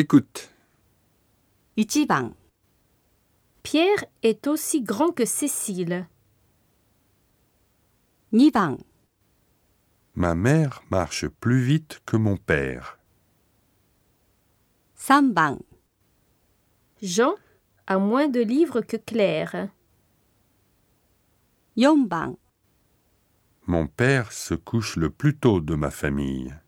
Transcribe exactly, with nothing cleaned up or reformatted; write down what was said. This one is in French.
Écoute. いちばん Pierre est aussi grand que Cécile. にばん Ma mère marche plus vite que mon père. さんばん Jean a moins de livres que Claire. よんばん Mon père se couche le plus tôt de ma famille.